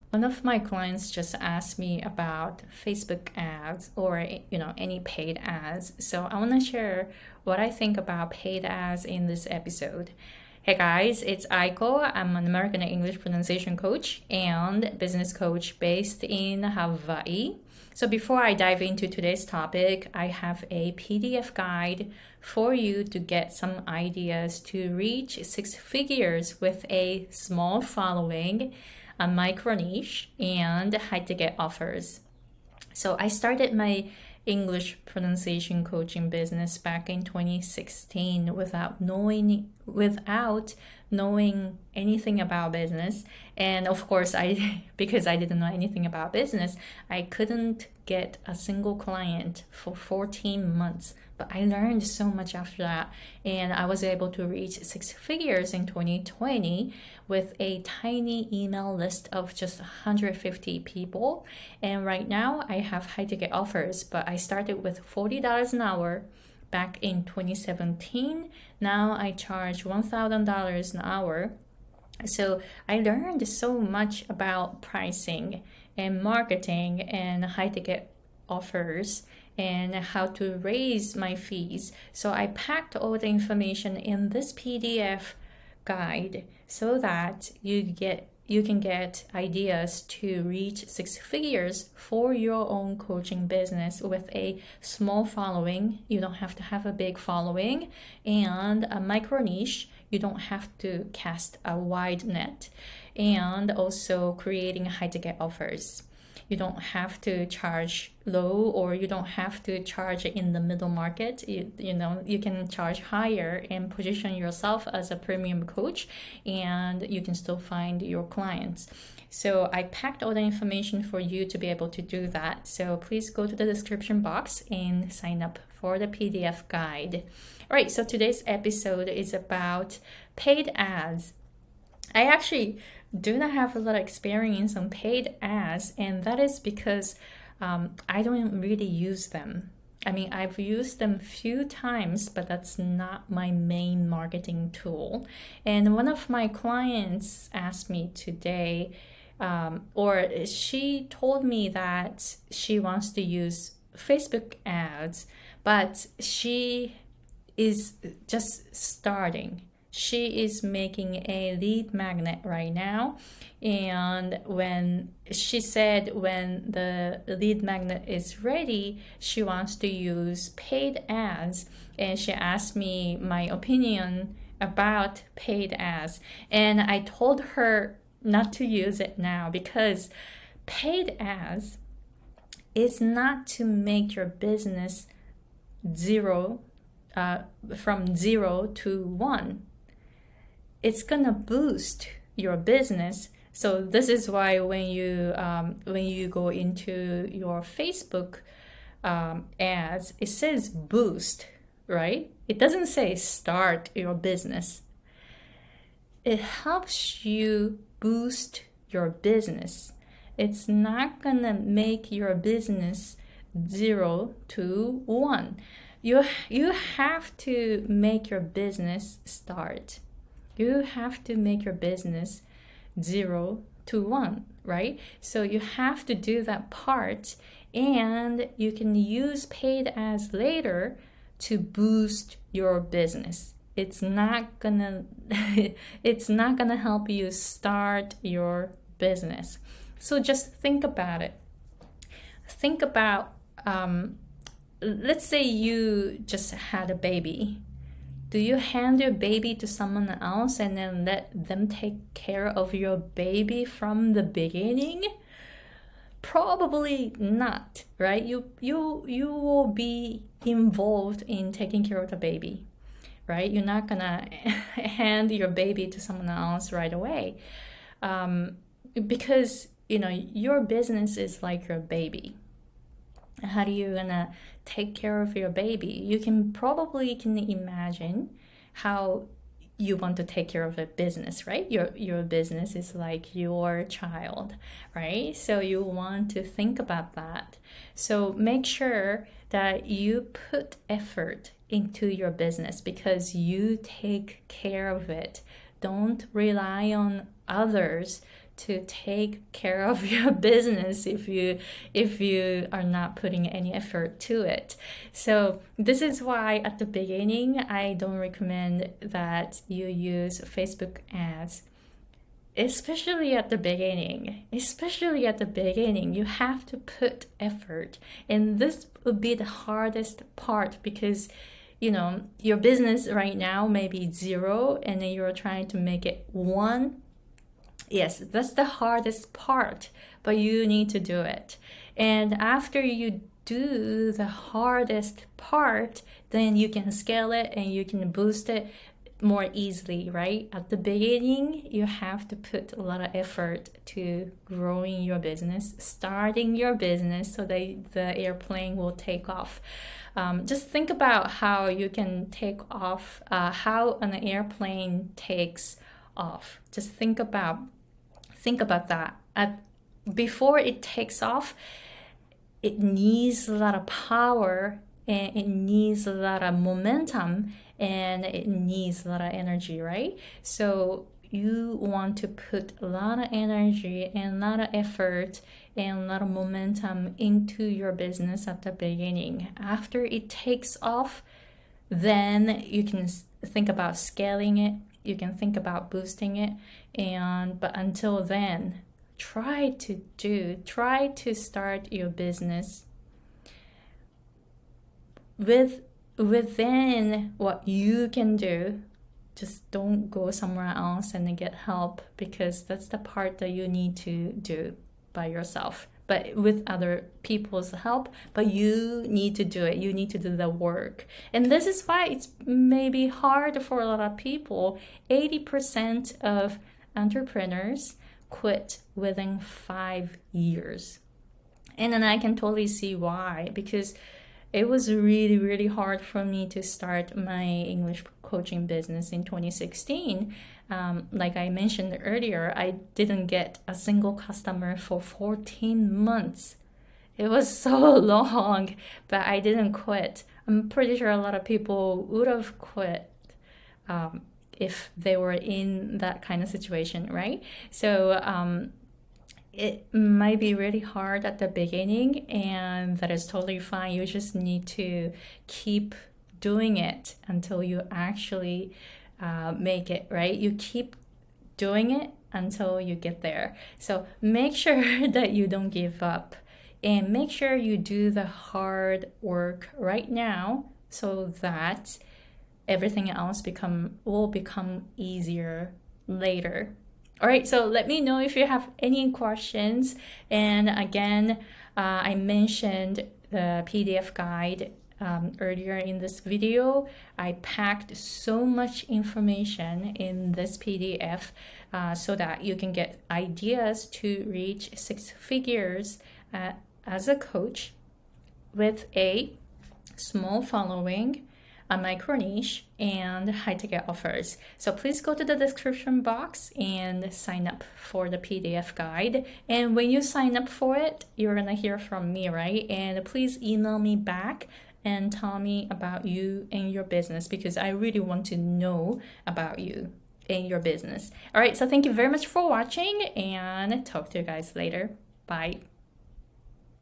One of my clients just asked me about Facebook ads or any paid ads. So I want to share what I think about paid ads in this episode. Hey guys, it's Aiko. I'm an American English pronunciation coach and business coach based in Hawaii. So before I dive into today's topic, I have a PDF guide for you to get some ideas to reach six figures with a small following, a micro niche, and high ticket offers. So I started my English pronunciation coaching business back in 2016 without knowing anything about business. And of course, I because I didn't know anything about business, I couldn't get a single client for 14 months. But I learned so much after that, and I was able to reach six figures in 2020 with a tiny email list of just 150 people. And right now I have high ticket offers, but I started with $40 an hour back in 2017. Now I charge $1,000 an hour. So I learned so much about pricing and marketing and high ticket offers and how to raise my fees. So I packed all the information in this PDF guide so that you can get ideas to reach six figures for your own coaching business with a small following. You don't have to have a big following, and a micro niche. You don't have to cast a wide net, and also creating high ticket offers. You don't have to charge low, or you don't have to charge in the middle market. You can charge higher and position yourself as a premium coach, and you can still find your clients. So I packed all the information for you to be able to do that. So please go to the description box and sign up for the PDF guide. All right, so today's episode is about paid ads. I actually do not have a lot of experience on paid ads, and that is because I don't really use them. I mean, I've used them a few times, but that's not my main marketing tool. And one of my clients asked me today, or she told me that she wants to use Facebook ads, but she is just starting. She is making a lead magnet right now, and when she said when the lead magnet is ready, she wants to use paid ads, and she asked me my opinion about paid ads, and I told her not to use it now because paid ads is not to make your business zero from 0 to 1. It's gonna boost your business. So this is why when you go into your Facebook ads, it says boost, right? It doesn't say start your business. It helps you boost your business. It's not gonna make your business 0 to 1. You have to make your business start. You have to make your business 0 to 1, right? So you have to do that part, and you can use paid ads later to boost your business. It's not gonna it's not gonna help you start your business. So just think about it. Think about let's say you just had a baby. Do you hand your baby to someone else and then let them take care of your baby from the beginning? Probably not, right? You will be involved in taking care of the baby, right? You're not gonna hand your baby to someone else right away, because your business is like your baby. How are you gonna take care of your baby? You can imagine how you want to take care of a business, right? Your business is like your child, right? So you want to think about that. So make sure that you put effort into your business because you take care of it. Don't rely on others to take care of your business if you are not putting any effort to it. So this is why at the beginning I don't recommend that you use Facebook ads. Especially at the beginning, you have to put effort. And this would be the hardest part because, your business right now may be 0 and then you're trying to make it 1. Yes, that's the hardest part, but you need to do it. And after you do the hardest part, then you can scale it and you can boost it more easily, right? At the beginning, you have to put a lot of effort to growing your business, starting your business so that the airplane will take off. Just think about how you can take off, how an airplane takes off. Just think about that. Before it takes off, it needs a lot of power and it needs a lot of momentum and it needs a lot of energy, right? So you want to put a lot of energy and a lot of effort and a lot of momentum into your business at the beginning. After it takes off, then you can think about scaling it, you can think about boosting it, but until then, try to start your business within what you can do. Just don't go somewhere else and get help, because that's the part that you need to do by yourself, but with other people's help. But you need to do it. You need to do the work. And this is why it's maybe hard for a lot of people. 80% of entrepreneurs quit within 5 years. And then I can totally see why, because it was really, really hard for me to start my English coaching business in 2016. Like I mentioned earlier, I didn't get a single customer for 14 months. It was so long, but I didn't quit. I'm pretty sure a lot of people would have quit if they were in that kind of situation, right? So it might be really hard at the beginning, and that is totally fine. You just need to keep doing it until you actually make it, right? You keep doing it until you get there. So make sure that you don't give up, and make sure you do the hard work right now so that everything else will become easier later. All right, so let me know if you have any questions. And again, I mentioned the PDF guide earlier in this video. I packed so much information in this PDF so that you can get ideas to reach 6 figures as a coach with a small following, a micro niche, and high ticket offers. So please go to the description box and sign up for the PDF guide. And when you sign up for it, you're gonna hear from me, right? And please email me back and tell me about you and your business, because I really want to know about you and your business. All right, so thank you very much for watching, and talk to you guys later. Bye.